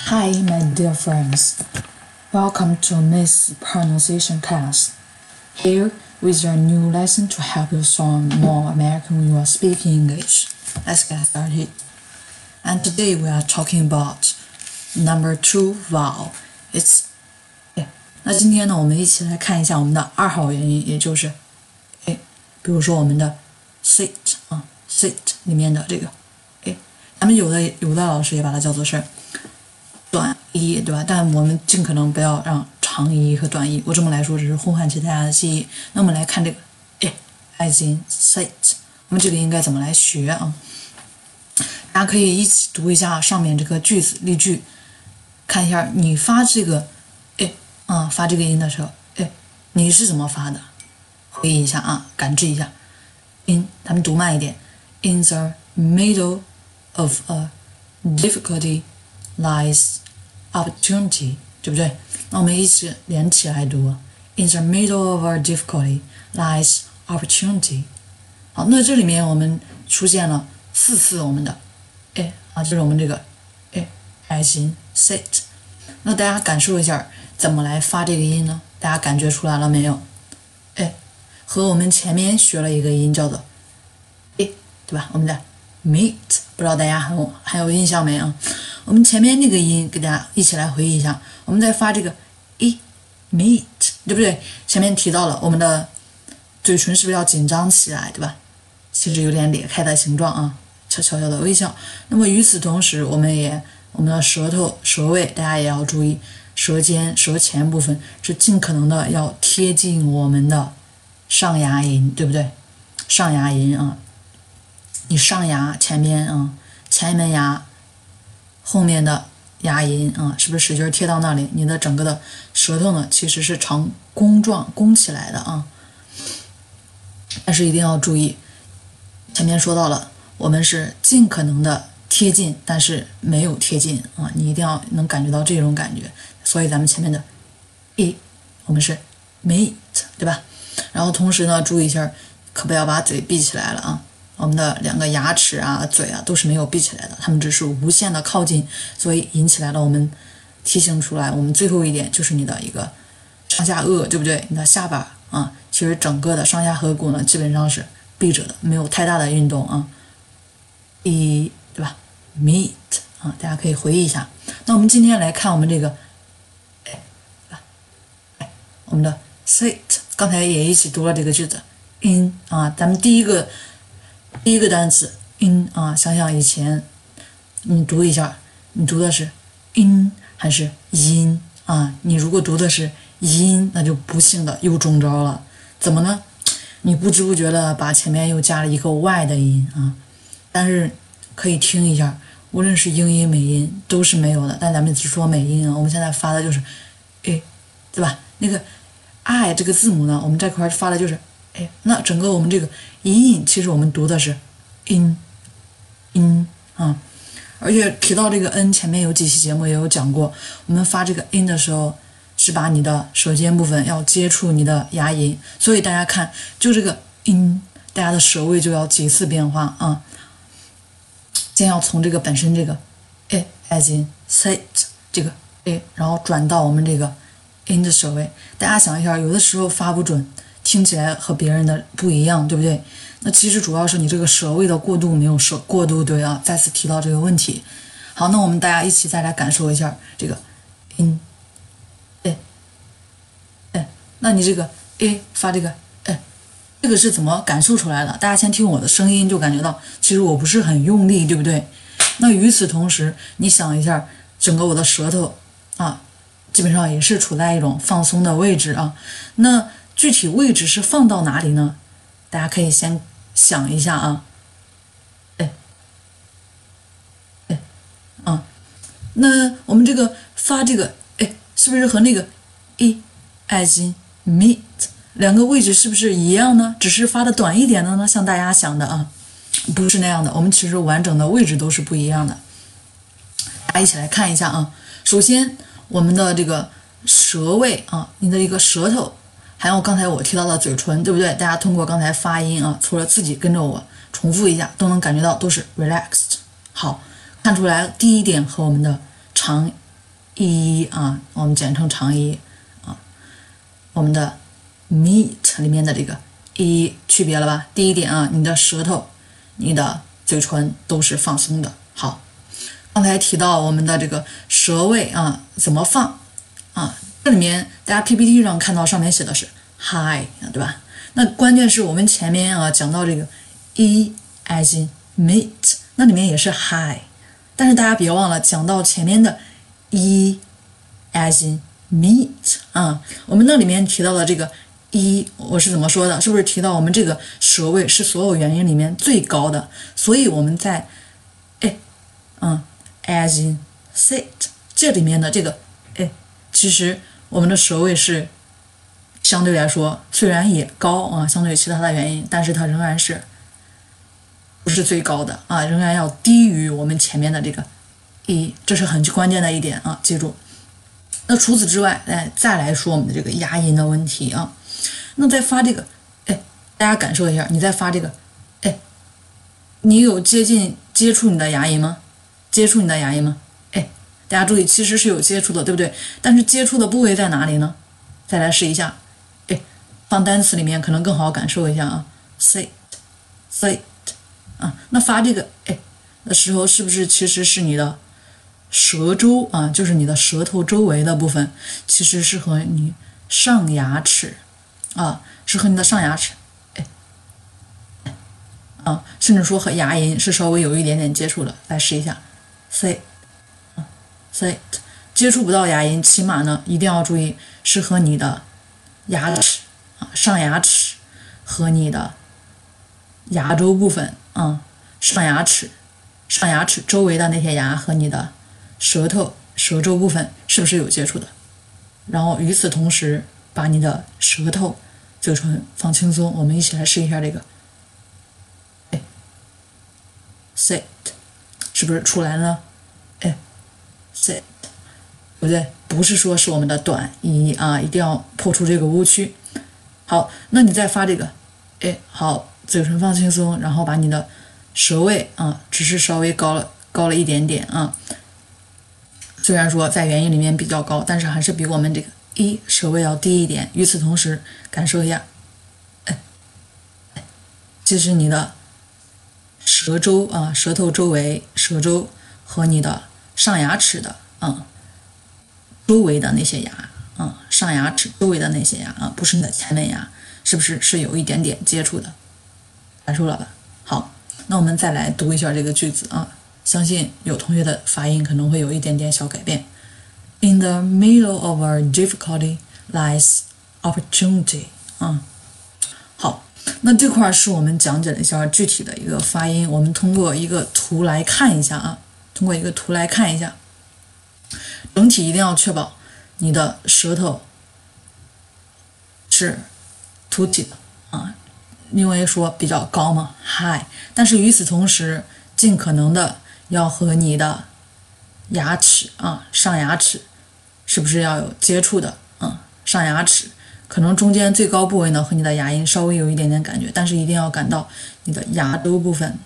Hi, my dear friends. Welcome to Miss Pronunciation class. Here with your new lesson to help you sound more American when you are speaking English. Let's get started. And today we are talking about number 2 vowel. It's 那今天呢，我们一起来看一下我们的2号元音，也就是比如说我们的 sit sit 里面的这个咱们有的老师也把它叫做是短一，对吧？但我们尽可能不要让长一和短一，我这么来说只是呼唤起大家的记忆。那我们来看这个as in sit， 我们这个应该怎么来学啊？大家可以一起读一下上面这个句子例句，看一下你发这个发这个音的时候，你是怎么发的？回忆一下啊，感知一下。咱们读慢一点。In the middle of a difficulty lies opportunity， 对不对？那我们一起连起来读。In the middle of a difficulty lies opportunity。好，那这里面我们出现了4次我们的就是我们这个as in sit。那大家感受一下怎么来发这个音呢？大家感觉出来了没有？和我们前面学了一个音叫做对吧？我们的 meet， 不知道大家还有印象没啊？我们前面那个音给大家一起来回忆一下，我们在发这个meet， 对不对？前面提到了我们的嘴唇是不是要紧张起来，对吧？其实有点裂开的形状啊，悄悄的微笑。那么与此同时，我们的舌头舌位大家也要注意，舌尖舌前部分是尽可能的要贴近我们的上牙龈，对不对？上牙龈啊，你上牙前边前门牙后面的牙龈是不是使劲贴到那里？你的整个的舌头呢，其实是呈弓状弓起来的啊。但是一定要注意，前面说到了，我们是尽可能的贴近，但是没有贴近啊，你一定要能感觉到这种感觉。所以咱们前面的我们是 meet， 对吧？然后同时呢，注意一下，可不要把嘴闭起来了啊。我们的2个牙齿啊、嘴啊都是没有闭起来的，它们只是无限的靠近，所以引起来了我们提醒出来，我们最后一点就是你的一个上下颚，对不对？你的下巴其实整个的上下颌骨呢基本上是闭着的，没有太大的运动啊。对吧 ？meet 大家可以回忆一下。那我们今天来看我们这个我们的 sit， 刚才也一起读了这个句子 in 咱们第一个单词 in 想想以前你读一下，你读的是 in 还是 in 你如果读的是 in， 那就不幸的又中招了。怎么呢？你不知不觉的把前面又加了一个 y 的音但是可以听一下，无论是英音美音都是没有的，但咱们只说美音我们现在发的就是对吧？那个 I 这个字母呢，我们这块发的就是那整个我们这个音其实我们读的是 in 而且提到这个 n， 前面有几期节目也有讲过，我们发这个 in 的时候是把你的舌尖部分要接触你的牙龈，所以大家看就这个 in， 大家的舌位就要几次变化先要从这个本身这个as in sit 这个然后转到我们这个 in 的舌位。大家想一下，有的时候发不准，听起来和别人的不一样，对不对？那其实主要是你这个舌位的过渡没有过渡对再次提到这个问题。好，那我们大家一起再来感受一下这个 in 那你这个发这个这个是怎么感受出来的？大家先听我的声音就感觉到，其实我不是很用力，对不对？那与此同时，你想一下，整个我的舌头基本上也是处在一种放松的位置那具体位置是放到哪里呢？大家可以先想一下那我们这个发这个是不是和那个as in meet 两个位置是不是一样呢？只是发的短一点的呢？像大家想的不是那样的，我们其实完整的位置都是不一样的。大家一起来看一下首先我们的这个舌位你的一个舌头，还有刚才我提到的嘴唇，对不对？大家通过刚才发音除了自己跟着我重复一下，都能感觉到都是 relaxed。好，看出来第一点和我们的长 e 啊，我们简称长 e 啊，我们的 meet 里面的这个 e 区别了吧？第一点啊，你的舌头、你的嘴唇都是放松的。好，刚才提到我们的这个舌位啊，怎么放啊？这里面大家 PPT 上看到上面写的是 high 对吧？那关键是我们前面啊讲到这个 e as in meet， 那里面也是 high， 但是大家别忘了讲到前面的 e as in meet 啊，我们那里面提到的这个 e 我是怎么说的？是不是提到我们这个舌位是所有元音里面最高的？所以我们在as in sit 这里面的这个其实我们的舌位是相对来说虽然也高啊，相对于其他的元音，但是它仍然是不是最高的啊，仍然要低于我们前面的这个 e， 这是很关键的一点啊，记住。那除此之外，再来说我们的这个牙龈的问题啊。那在发这个，大家感受一下，你在发这个，你有接触你的牙龈吗？接触你的牙龈吗？大家注意，其实是有接触的，对不对？但是接触的部位在哪里呢？再来试一下，放单词里面可能更好感受一下啊。sit 啊，那发这个的时候，是不是其实是你的舌周啊，就是你的舌头周围的部分，其实是和你上牙齿啊，是和你的上牙齿，甚至说和牙龈是稍微有一点点接触的。来试一下 sit， 接触不到牙龈，起码呢一定要注意是和你的牙齿啊，上牙齿和你的牙周部分啊，上牙齿周围的那些牙和你的舌周部分是不是有接触的？然后与此同时，把你的舌头、嘴唇放轻松。我们一起来试一下这个，sit， 是不是出来了？sit， 对不对？不是说是我们的短音啊，一定要破除这个误区。好，那你再发这个，好，嘴唇放轻松，然后把你的舌位啊，只是稍微高了一点点啊。虽然说在元音里面比较高，但是还是比我们这个舌位要低一点。与此同时，感受一下，其实你的舌周啊，舌头周围、舌周和你的上牙齿的周围的那些牙上牙齿周围的那些牙不是你的前门牙，是不是有一点点接触的？感受了吧？好，那我们再来读一下这个句子啊。相信有同学的发音可能会有一点点小改变。In the middle of our difficulty lies opportunity 好，那这块是我们讲解了一下具体的一个发音，我们通过一个图来看一下啊，整体一定要确保你的舌头是凸起的啊，因为说比较高嘛 high， 但是与此同时尽可能的要和你的牙齿上牙齿是不是要有接触的上牙齿可能中间最高部位呢和你的牙龈稍微有一点点感觉，但是一定要感到你的牙周部分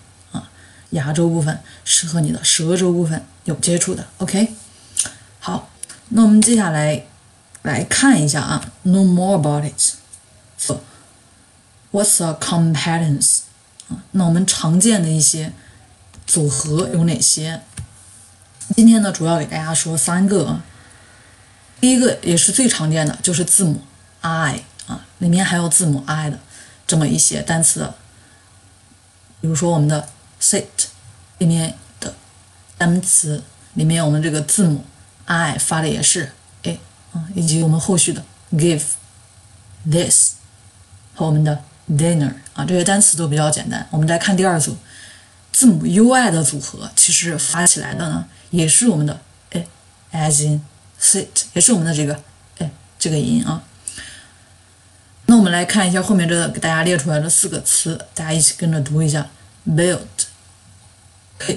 是和你的舌周部分有接触的。 OK， 好，那我们接下来看一下know more about it。 So what's a competence？ 那我们常见的一些组合有哪些？今天呢主要给大家说3个。第一个也是最常见的，就是字母 I 里面还有字母 I 的这么一些单词，比如说我们的 sit 里面的单词里面我们这个字母 I 发的也是以及我们后续的 give、this 和我们的 dinner 这些单词都比较简单。我们再看第二组字母 UI 的组合，其实发起来的呢也是我们的as in sit， 也是我们的这个音那我们来看一下后面这个给大家列出来的4个词，大家一起跟着读一下 build、 kit、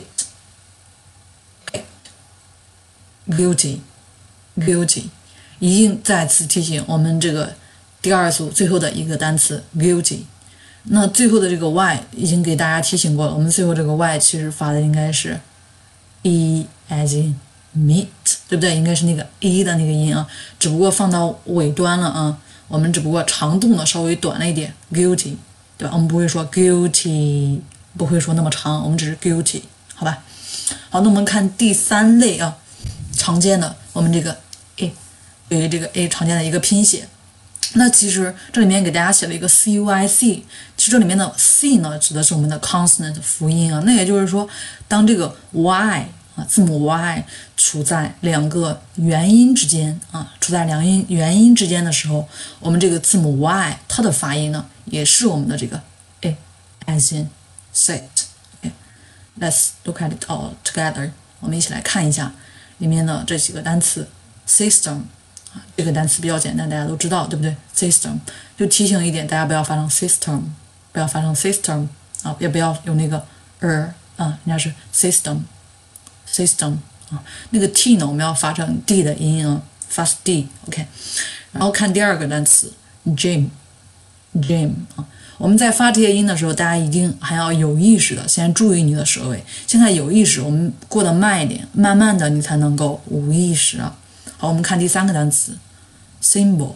beauty。 一定再次提醒我们这个第二组最后的一个单词 beauty。 那最后的这个 y 已经给大家提醒过了，我们最后这个 y 其实发的应该是 e as in meet。 对不对？应该是那个 e 的那个音啊，只不过放到尾端了啊。我们只不过长度呢稍微短了一点 ，guilty， 对吧？我们不会说 guilty， 不会说那么长，我们只是 guilty， 好吧？好，那我们看第3类啊，常见的我们这个 a， 对于这个 a 常见的一个拼写。那其实这里面给大家写了一个 cyc， 其实这里面的 c 呢指的是我们的 consonant 辅音啊。那也就是说，当这个 y 啊字母 y 处在2个元音之间啊，处在元音之间的时候，我们这个字母 y 它的发音呢也是我们的这个 a，as in sit。Let's look at it all together。我们一起来看一下里面的这几个单词 system。这个单词比较简单，大家都知道，对不对 ？System 就提醒一点，大家不要发成 system， 不要发成 system 啊，也不要有那个啊，人家是 system 啊，那个 t 呢，我们要发成 d 的音啊，发 d，OK。然后看第2个单词 gym 啊，我们在发这些音的时候，大家一定还要有意识的先注意你的舌位。现在有意识，我们过得慢一点，慢慢的你才能够无意识啊。好，我们看第3个单词 symbol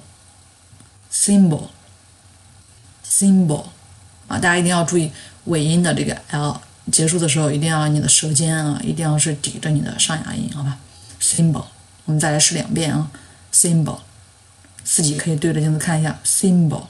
啊，大家一定要注意尾音的这个 l 结束的时候，一定要你的舌尖啊，一定要是抵着你的上牙龈，好吧 ？symbol， 我们再来试2遍啊 ，symbol， 自己可以对着镜子看一下 symbol，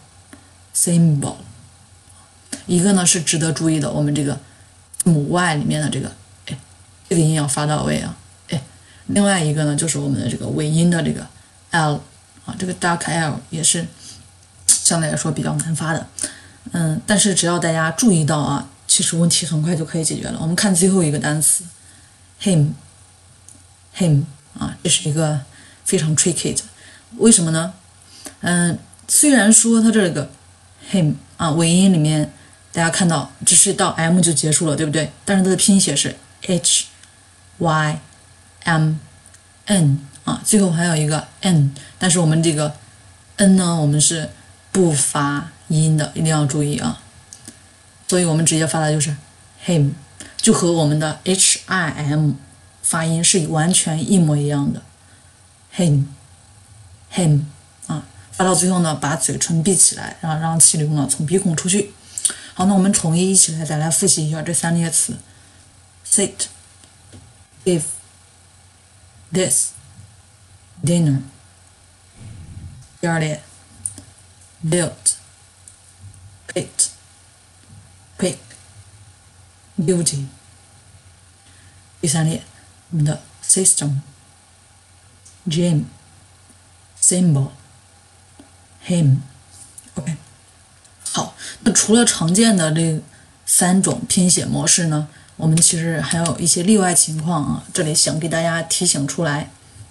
一个呢是值得注意的，我们这个字母 y 里面的这个这个音要发到位啊。另外一个呢，就是我们的这个尾音的这个 l 啊，这个 dark l 也是相对来说比较难发的，但是只要大家注意到啊，其实问题很快就可以解决了。我们看最后一个单词 him 啊，这是一个非常 tricky 的，为什么呢？虽然说它这个 him 啊尾音里面大家看到只是到 m 就结束了，对不对？但是它的拼写是 h y m n 啊，最后还有一个 n， 但是我们这个 n 呢，我们是不发音的，一定要注意啊。所以我们直接发的就是 him， 就和我们的 him 发音是完全一模一样的 him 啊，发到最后呢，把嘴唇闭起来，然后让气流呢从鼻孔出去。好，那我们统一起来再来复习一下这3列词 sit give this dinner。 第2列 build picked pick beauty。 第3列我们的 system gym symbol him。 OK， 好，那除了常见的这3种拼写模式呢，我们其实还有一些例外情况啊，这里想给大家提醒出来。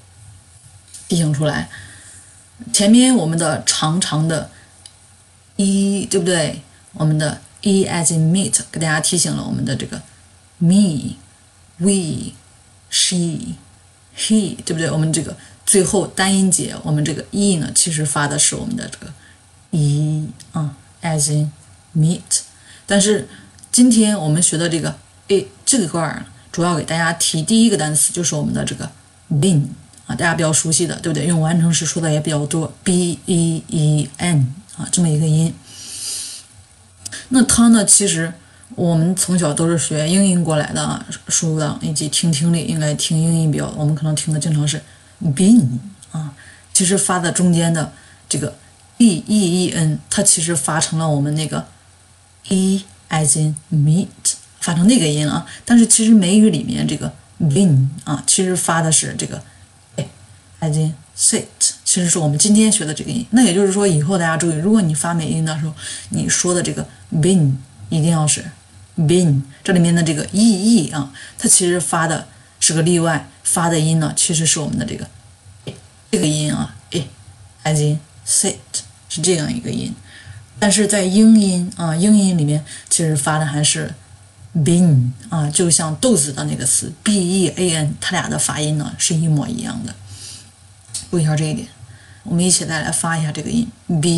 前面我们的长长的 e， 对不对？我们的 e as in meat 给大家提醒了我们的这个 me we she he， 对不对？我们这个最后单音节，我们这个 e 呢，其实发的是我们的这个 e 啊 as in meat。 但是今天我们学的这个这块主要给大家提第1个单词，就是我们的这个 been 啊，大家比较熟悉的，对不对？用完成时说的也比较多 b-e-e-n 啊，这么一个音。那它呢，其实我们从小都是学英音过来的啊，书档以及听力应该听英音比较，我们可能听的经常是 been 啊，其实发的中间的这个 b-e-e-n， 它其实发成了我们那个 e as in meat， 发成那个音啊。但是其实美语里面这个 been 啊，其实发的是这个as in sit， 其实是我们今天学的这个音。那也就是说，以后大家注意，如果你发美音的时候，你说的这个 been 一定要是 been， 这里面的这个 ee 啊，它其实发的是个例外，发的音呢其实是我们的这个音啊as in sit 是这样一个音。但是在英音里面其实发的还是 bean 啊，就像豆子的那个词 b-e-a-n， 它俩的发音呢是一模一样的。注意一下这一点，我们一起再来发一下这个音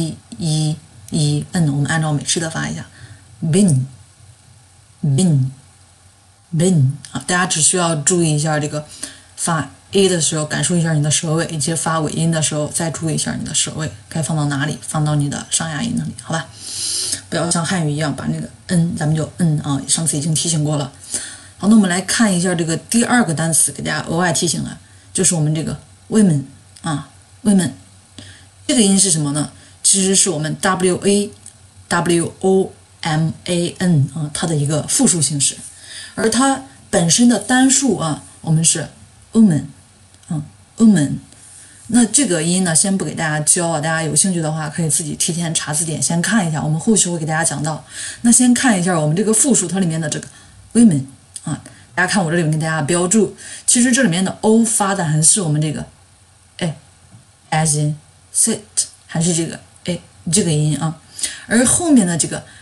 b-e-e-n， 我们按照美式的发一下 bin 啊，大家只需要注意一下这个发 a 的时候，感受一下你的舌位，以及发尾音的时候，再注意一下你的舌位该放到哪里，放到你的上牙龈那里，好吧？不要像汉语一样把那个咱们就啊，上次已经提醒过了。好，那我们来看一下这个第二个单词，给大家额外提醒了，就是我们这个 women 啊 women 这个音是什么呢？其实是我们 WOMAN 啊它的一个复数形式，而它本身的单数啊，我们是 woman woman。那这个音呢，先不给大家教啊，大家有兴趣的话可以自己提前查字典先看一下，我们后续会给大家讲到。那先看一下我们这个复数它里面的这个 women 啊，大家看我这里面给大家标注，其实这里面的 o 发的还是我们这个as in sit， 还是这个这个音啊，而后面的这个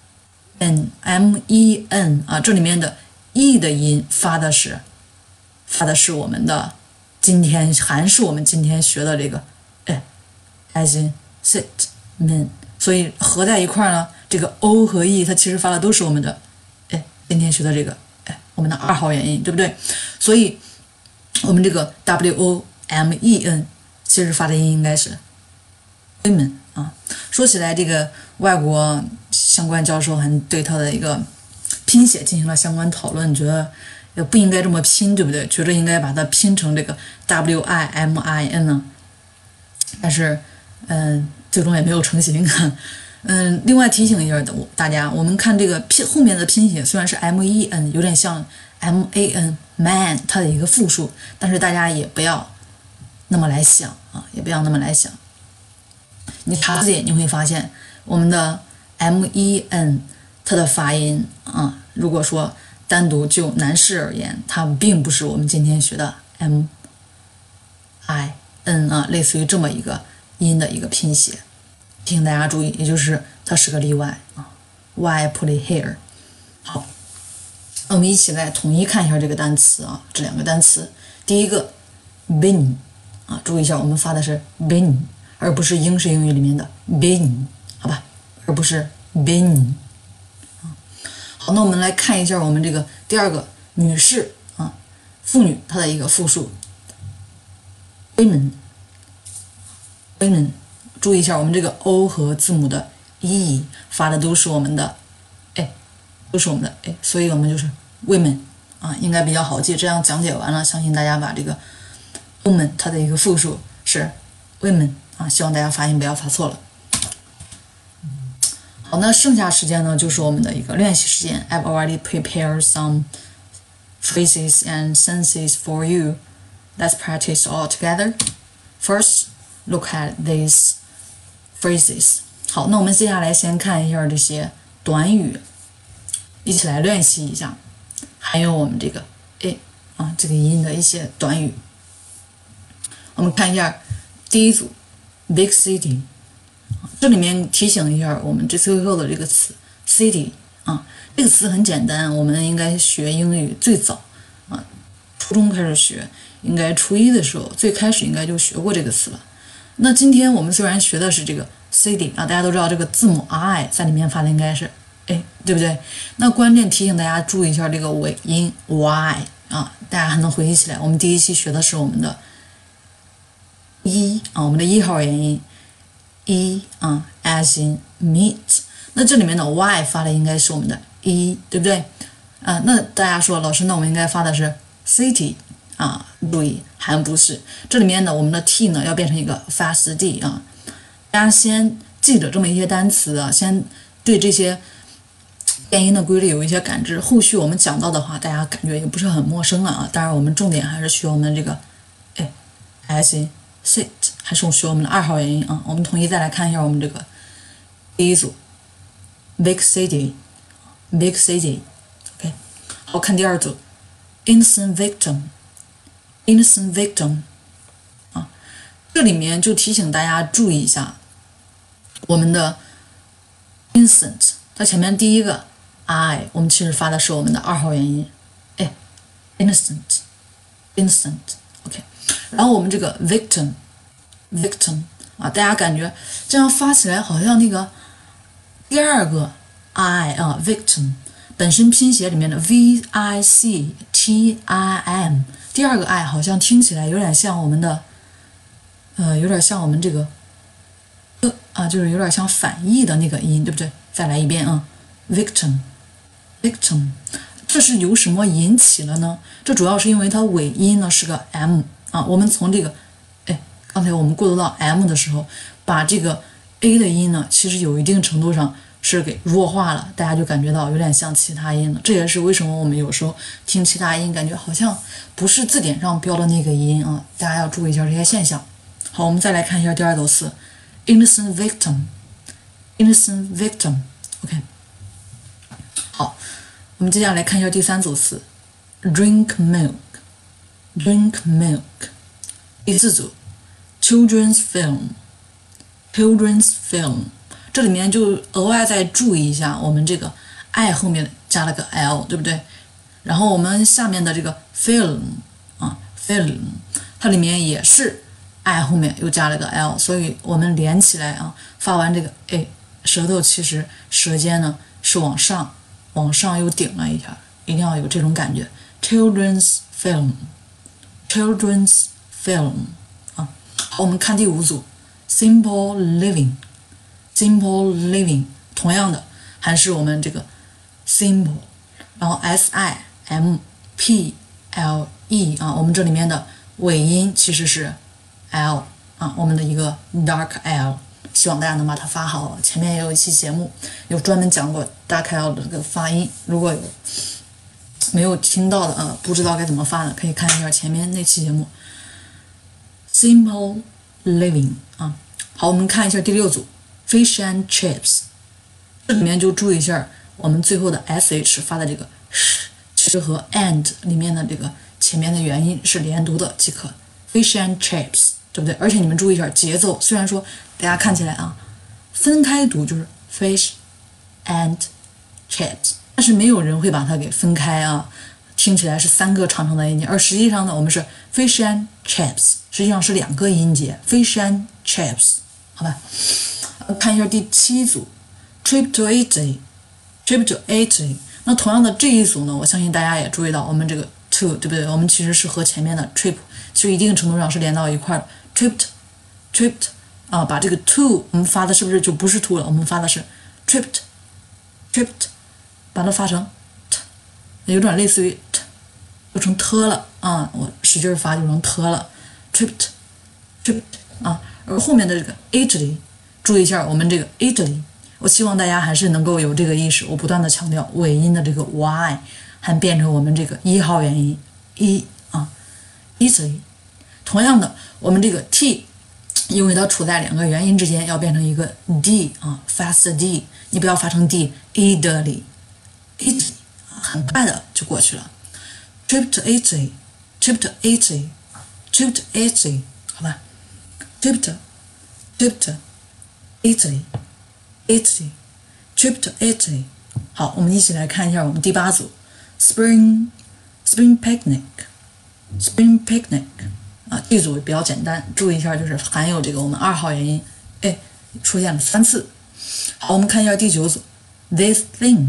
men 啊，这里面的 e 的音发的是我们的还是我们今天学的这个as in sit men， 所以合在一块呢，这个 o 和 e 它其实发的都是我们的今天学的这个我们的2号元音，对不对？所以我们这个 women 其实发的音应该是 women 啊。说起来，这个外国相关教授还对它的一个拼写进行了相关讨论，觉得也不应该这么拼，对不对？觉得应该把它拼成这个 WIMIN 呢，但是最终也没有成型。另外提醒一下大家，我们看这个后面的拼写虽然是 MEN， 有点像 MAN man 它的一个复数，但是大家也不要那么来想啊，也不要那么来想。你查字典你会发现，我们的 MEN 它的发音啊，如果说单独就男士而言，它并不是我们今天学的 MIN 啊，类似于这么一个音的一个拼写，提醒大家注意，也就是它是个例外啊。Why put it here？ 好，我们一起来统一看一下这个单词啊，这2个单词。第一个 bin 啊，注意一下，我们发的是 bin， 而不是英式英语里面的 bin， 好吧？而不是 bin。好，那我们来看一下我们这个第2个女士啊，妇女它的一个复数 women。注意一下，我们这个 o 和字母的 e 发的都是我们的都是我们的所以我们就是 women 啊，应该比较好记。这样讲解完了，相信大家把这个 woman 它的一个复数是 women 啊，希望大家发音不要发错了。好，那剩下时间呢，就是我们的一个练习时间。I've already prepared some phrases and sentences for you. Let's practice all together. First, look at these phrases. 好，那我们接下来先看一下这些短语，一起来练习一下。还有我们这个这个音的一些短语。我们看一下第一组 ，big city。这里面提醒一下我们最后的这个词 city 啊，这个词很简单，我们应该学英语最早啊，初中开始学，应该初1的时候最开始应该就学过这个词了。那今天我们虽然学的是这个 city 啊，大家都知道这个字母 I 在里面发的应该是对不对？那关键提醒大家注意一下这个尾音 y 啊，大家还能回忆起来，我们第1期学的是我们的我们的1号元音。as in meat， 那这里面的 y 发的应该是我们的对不对？那大家说老师，那我们应该发的是 city 啊，注意还不是，这里面呢我们的 t 呢要变成一个 fast d 啊，大家先记着这么一些单词啊，先对这些变音的规律有一些感知，后续我们讲到的话，大家感觉也不是很陌生了啊。当然我们重点还是学我们这个as in sit， 还是学我们的2号元音啊。我们统一再来看一下我们这个第一组 big city OK。 好，看第2组 innocent victim 啊，这里面就提醒大家注意一下我们的 innocent， 它前面第一个 I 我们其实发的是我们的2号元音innocent OK。 然后我们这个 victim 啊，大家感觉这样发起来好像那个第2个 I 啊 victim， 本身拼写里面的 victim， 第二个 i 好像听起来有点像我们的，有点像我们这个，就是有点像反义的那个音，对不对？再来一遍啊，victim，这是由什么引起了呢？这主要是因为它尾音呢是个 m 啊，我们从这个，刚才我们过渡到 m 的时候，把这个 a 的音呢，其实有一定程度上是给弱化了，大家就感觉到有点像其他音了。这也是为什么我们有时候听其他音，感觉好像不是字典上标的那个音啊，大家要注意一下这些现象。好，我们再来看一下第二组词 ，innocent victim，innocent victim，OK。好，我们接下来看一下第三组词 ，drink milk，drink milk。第四组 ，children's film，children's film。这里面就额外再注意一下，我们这个 i 后面加了个 l， 对不对？然后我们下面的这个 film film， 它里面也是 i 后面又加了个 l， 所以我们连起来啊，发完这个 a， 舌头其实舌尖呢是往上又顶了一下，一定要有这种感觉。children's film，children's film 啊。好，我们看第五组 simple living。simple living 同样的还是我们这个 simple， 然后 simple 啊，我们这里面的尾音其实是 l 啊，我们的一个 dark l， 希望大家能把它发好。前面也有一期节目有专门讲过 dark l 的这个发音，如果有没有听到的不知道该怎么发的，可以看一下前面那期节目。simple living 啊，好，我们看一下第六组。Fish and chips， 这里面就注意一下，我们最后的 sh 发的这个 sh， 其实和 and 里面的这个前面的元音是连读的即可。Fish and chips， 对不对？而且你们注意一下节奏，虽然说大家看起来啊，分开读就是 fish and chips， 但是没有人会把它给分开啊，听起来是三个长长的音节，而实际上呢，我们是 fish and chips， 实际上是两个音节 ，fish and chips， 好吧？看一下第七组 ，trip to Italy，trip to Italy。那同样的这一组呢，我相信大家也注意到，我们这个 to 对不对？我们其实是和前面的 trip 其实一定程度上是连到一块的。tripped 啊，把这个 to 我们发的是不是就不是 to 了？我们发的是 tripped， 把它发成 t， 有点类似于 t， 就成 t 了啊！我使劲发就成 t 了 ，tripped 啊，而后面的这个 Italy。注意一下我们这个 Italy， 我希望大家还是能够有这个意识，我不断的强调尾音的这个 y 还变成我们这个一号元音 Italy。同样的，我们这个 t， 因为它处在两个元音之间，要变成一个 d 啊 ，fast d， 你不要发成 d，Italy， 很快的就过去了。trip to Italy，trip to Italy，trip to Italy， 好吧 ，trip to Italy， trip to Italy。好，我们一起来看一下我们第八组 Spring Picnic 啊，这组比较简单，注意一下就是含有这个我们二号元音，出现了3次。好，我们看一下第九组 This thing，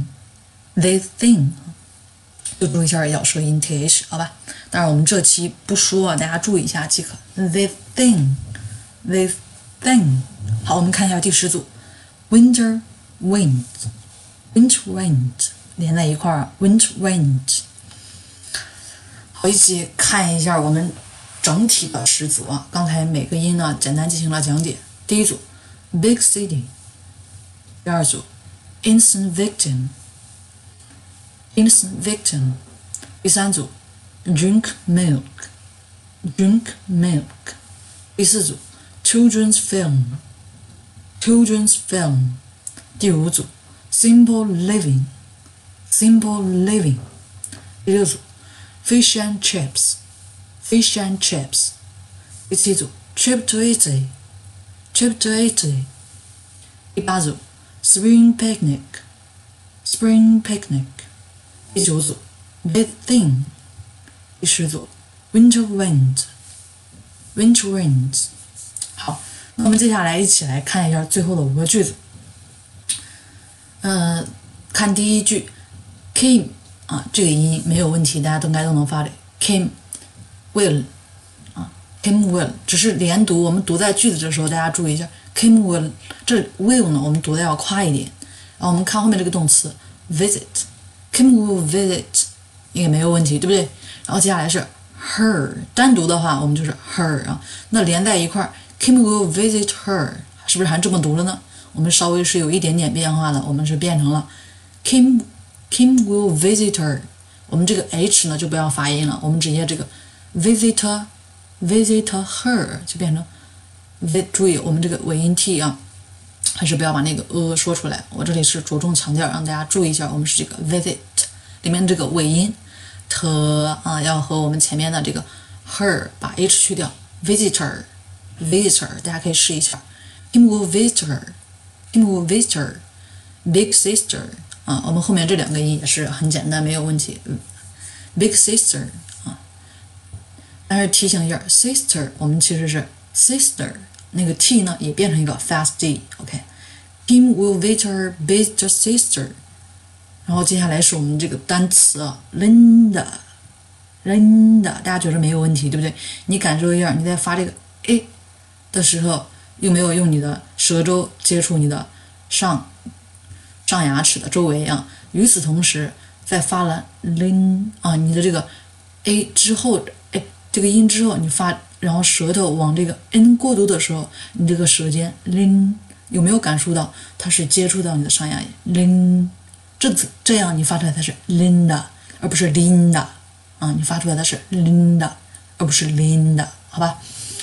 就注意一下咬舌音 th， 好吧？当然我们这期不说，大家注意一下即可。This thing。好，我们看一下第10组 Winter wind 连在一块儿 Winter wind。 好，一起看一下我们整体的10组啊，刚才每个音呢简单进行了讲解。第一组 Big city， 第二组 Innocent victim， 第三组 Drink milk， 第四组Children's film， 第五组 Simple living， 第六组 Fish and chips， 第七组 Trip to Italy， 第八组 Spring picnic， 第九组 Big thing， 第10组 Winter wind。好，那我们接下来一起来看一下最后的5个句子。看第一句 came 这个音没有问题，大家应该都能发的 came will came will， 只是连读，我们读在句子的时候，大家注意一下 came will， 这 will 呢，我们读的要快一点。然后我们看后面这个动词 visit，came will visit 应该没有问题，对不对？然后接下来是 her， 单独的话我们就是 her 那连在一块儿 came will visit her， 是不是还这么读了呢？我们稍微是有一点点变化的，我们是变成了 Kim will visit her， 我们这个 h 呢就不要发音了，我们直接这个 visit her 就变成注意我们这个尾音 t 还是不要把那个说出来。我这里是着重强调让大家注意一下，我们是这个 visit 里面这个尾音 t 要和我们前面的这个 her 把 h 去掉 visitor， 大家可以试一下 Kim will visit her big sister 我们后面这两个音也是很简单，没有问题。big sister 但是提醒一下 sister 我们其实是 sister， 那个 t 呢也变成一个 fast d。 OK， Kim will visit her big sister。 然后接下来是我们这个单词Linda， 大家觉得没有问题对不对？你感受一下，你在发这个 a 的时候有没有用你的舌周接触你的上牙齿的周围与此同时在发了 lin 你的这个 a 之后这个音之后你发，然后舌头往这个 n 过渡的时候，你这个舌尖 lin 有没有感受到它是接触到你的上牙龈 lin， 这样你发出来它是 Linda 而不是 Linda 你发出来它是 Linda 而不是 Linda， 好吧？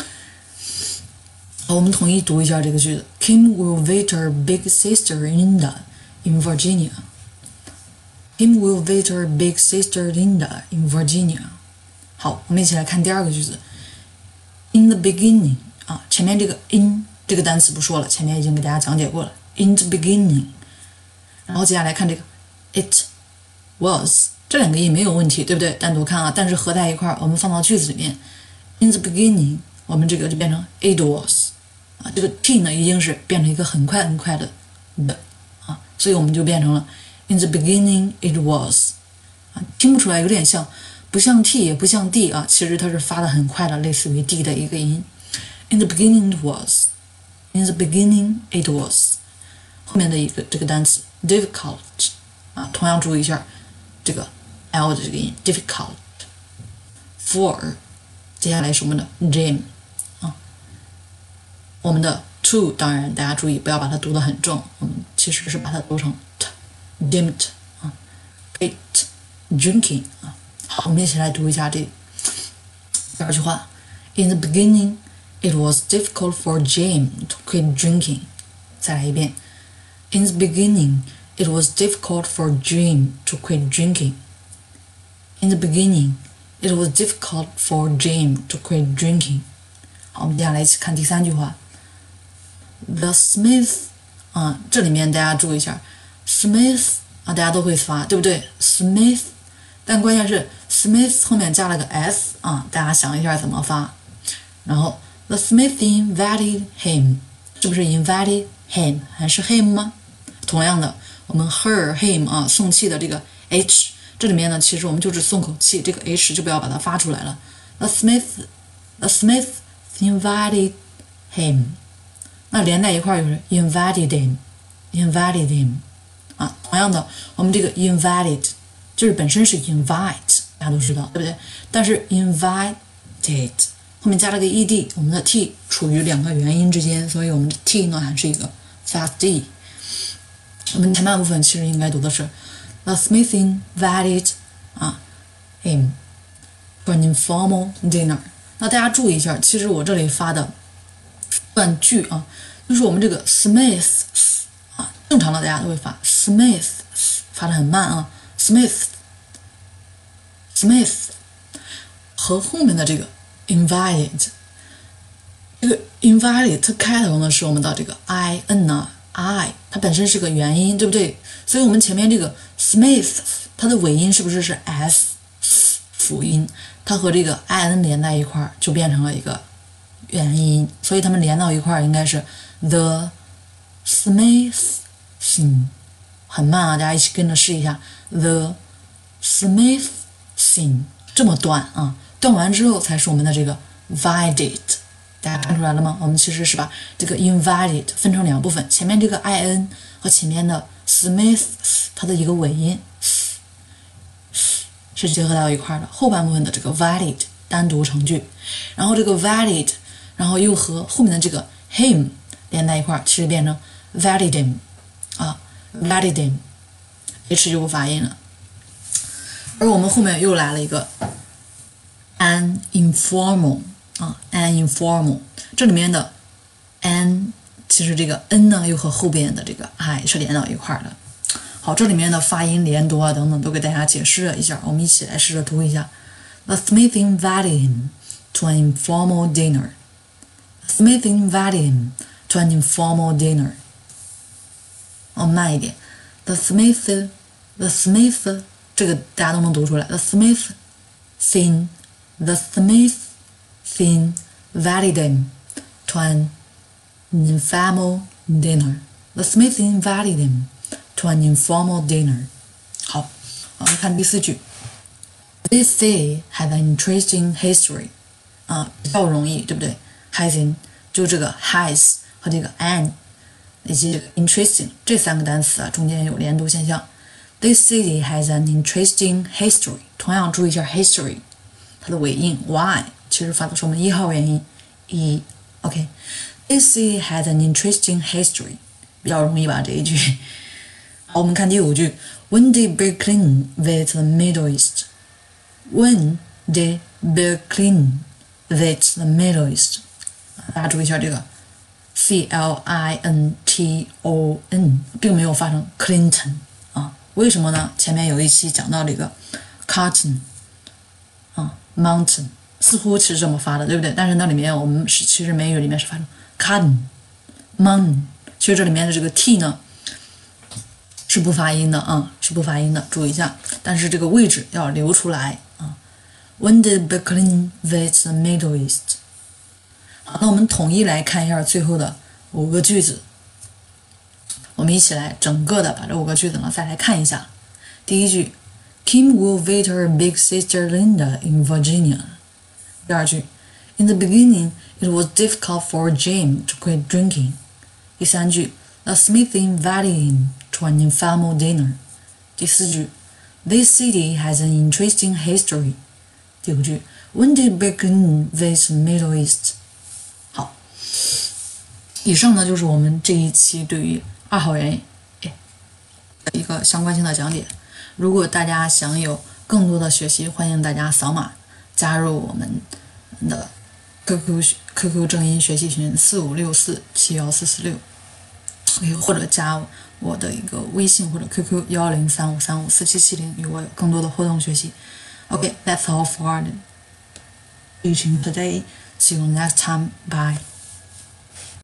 好，我们统一读一下这个句子 Kim will visit her big sister Linda in Virginia。 Kim will visit her big sister Linda in Virginia。 好，我们一起来看第二个句子 In the beginning 前面这个 in 这个单词不说了，前面已经给大家讲解过了 In the beginning。 然后接下来看这个 It was， 这两个音没有问题对不对？单独看但是合在一块我们放到句子里面 In the beginning 我们这个就变成 It was这个 t 呢已经是变成一个很快的所以我们就变成了 In the beginning it was 听不出来，有点像，不像 t 也不像 d 其实它是发的很快的，类似于 d 的一个音。In the beginning it was， In the beginning it was。 后面的一个这个单词 difficult 同样注意一下这个 l 的这个音 difficult。 for 接下来是我们的 gym我们的 to 当然大家注意不要把它读得很重，我们其实是把它读成 dimmed quit drinking 好，我们一起来读一下这第二句话 In the beginning it was difficult for Jim to quit drinking。 再来一遍 In the beginning it was difficult for Jim to quit drinking。 In the beginning it was difficult for Jim to quit drinking。 好，我们接下来一起看第三句话 The Smith 这里面大家注意一下 Smith 大家都会发对不对 Smith， 但关键是 Smith 后面加了个 s 大家想一下怎么发。然后 The Smith invited him， 是不是 invited him 还是 him 吗？同样的我们 her him 送气的这个 h 这里面呢其实我们就是松口气，这个 h 就不要把它发出来了。 The Smith invited him， 那连在一块就是 invited him 同样的我们这个 invited 就是本身是 invite 大家都知道对不对？但是 invited 后面加了个 ed， 我们的 t 处于两个元音之间，所以我们的 t 呢还是一个 fast d。 我们前半部分其实应该读的是 The Smith invited him for an informal dinner。 那大家注意一下，其实我这里发的断句就是我们这个 Smith 正常的大家都会发 Smith 发的很慢Smith 和后面的这个 invited， 这个 invited 它开头呢是我们的这个 i 它本身是个元音对不对？所以我们前面这个 Smith 它的尾音是不是 s 辅音？它和这个 in 连在一块就变成了一个元音，所以它们连到一块应该是 the Smiths 很慢啊，大家一起跟着试一下。The Smith thing 这么断啊，断完之后才是我们的这个 valid。大家看出来了吗？我们其实是把这个 invalid 分成两部分，前面这个 in 和前面的 Smith 它的一个尾音是结合到一块的，后半部分的这个 valid 单独成句，然后这个 valid， 然后又和后面的这个 him 连在一块，其实变成 validim 啊 validim h 就不发音了。而我们后面又来了一个 an informal 啊 an informal， 这里面的 an 其实这个 n 呢又和后边的这个 I 是连到一块的。好，这里面的发音连读啊等等都给大家解释了一下，我们一起来试着读一下。The Smith invited him to an informal dinner. The Smith invited him to an informal dinner. 慢一点。The Smith 这个大家都能读出来。The Smith thing invited him to an informal dinner. The Smith invited him to an informal dinner. 好，我们看第4句。This city has an interesting history. 比较容易，对不对 ？Has 就这个 has 和这个 an 以及 interesting 这3个单词啊，中间有连读现象。This city has an interesting history. 同样注意一下 history， 它的尾音 y 其实发的是我们1号元音 e。OK， This city has an interesting history， 比较容易吧这一句。好，我们看第5句。When did Berlin visit the Middle East? When did Berlin visit the Middle East? 大家注意一下这个 Clinton 并没有发成 Clinton 啊，为什么呢？前面有一期讲到这个 cotton mountain 似乎是这么发的，对不对？但是那里面我们其实美语里面是发成 cotton mountain， 其实这里面的这个 t 呢是不发音的啊，是不发音的，注意一下。但是这个位置要留出来啊。When did Berlin visit the Middle East？ 好，那我们统一来看一下最后的5个句子。我们一起来整个的把这5个句子呢再来看一下。第1句 ，Kim will visit her big sister Linda in Virginia。第2句 ，In the beginning, it was difficult for Jim to quit drinking。第3句 ，The Smith invited him to an informal dinner。第4句 ，This city has an interesting history。第5句 ，When did Berlin visit the Middle East？ 好，以上呢就是我们这一期对于2号元一个相关性的讲解。如果大家想有更多的学习，欢迎大家扫码加入我们的 QQ 正音学习群4564714446，或者加我的一个微信或者 QQ1035354770，与我有更多的互动学习。Okay, that's all for the teaching today. See you next time. Bye.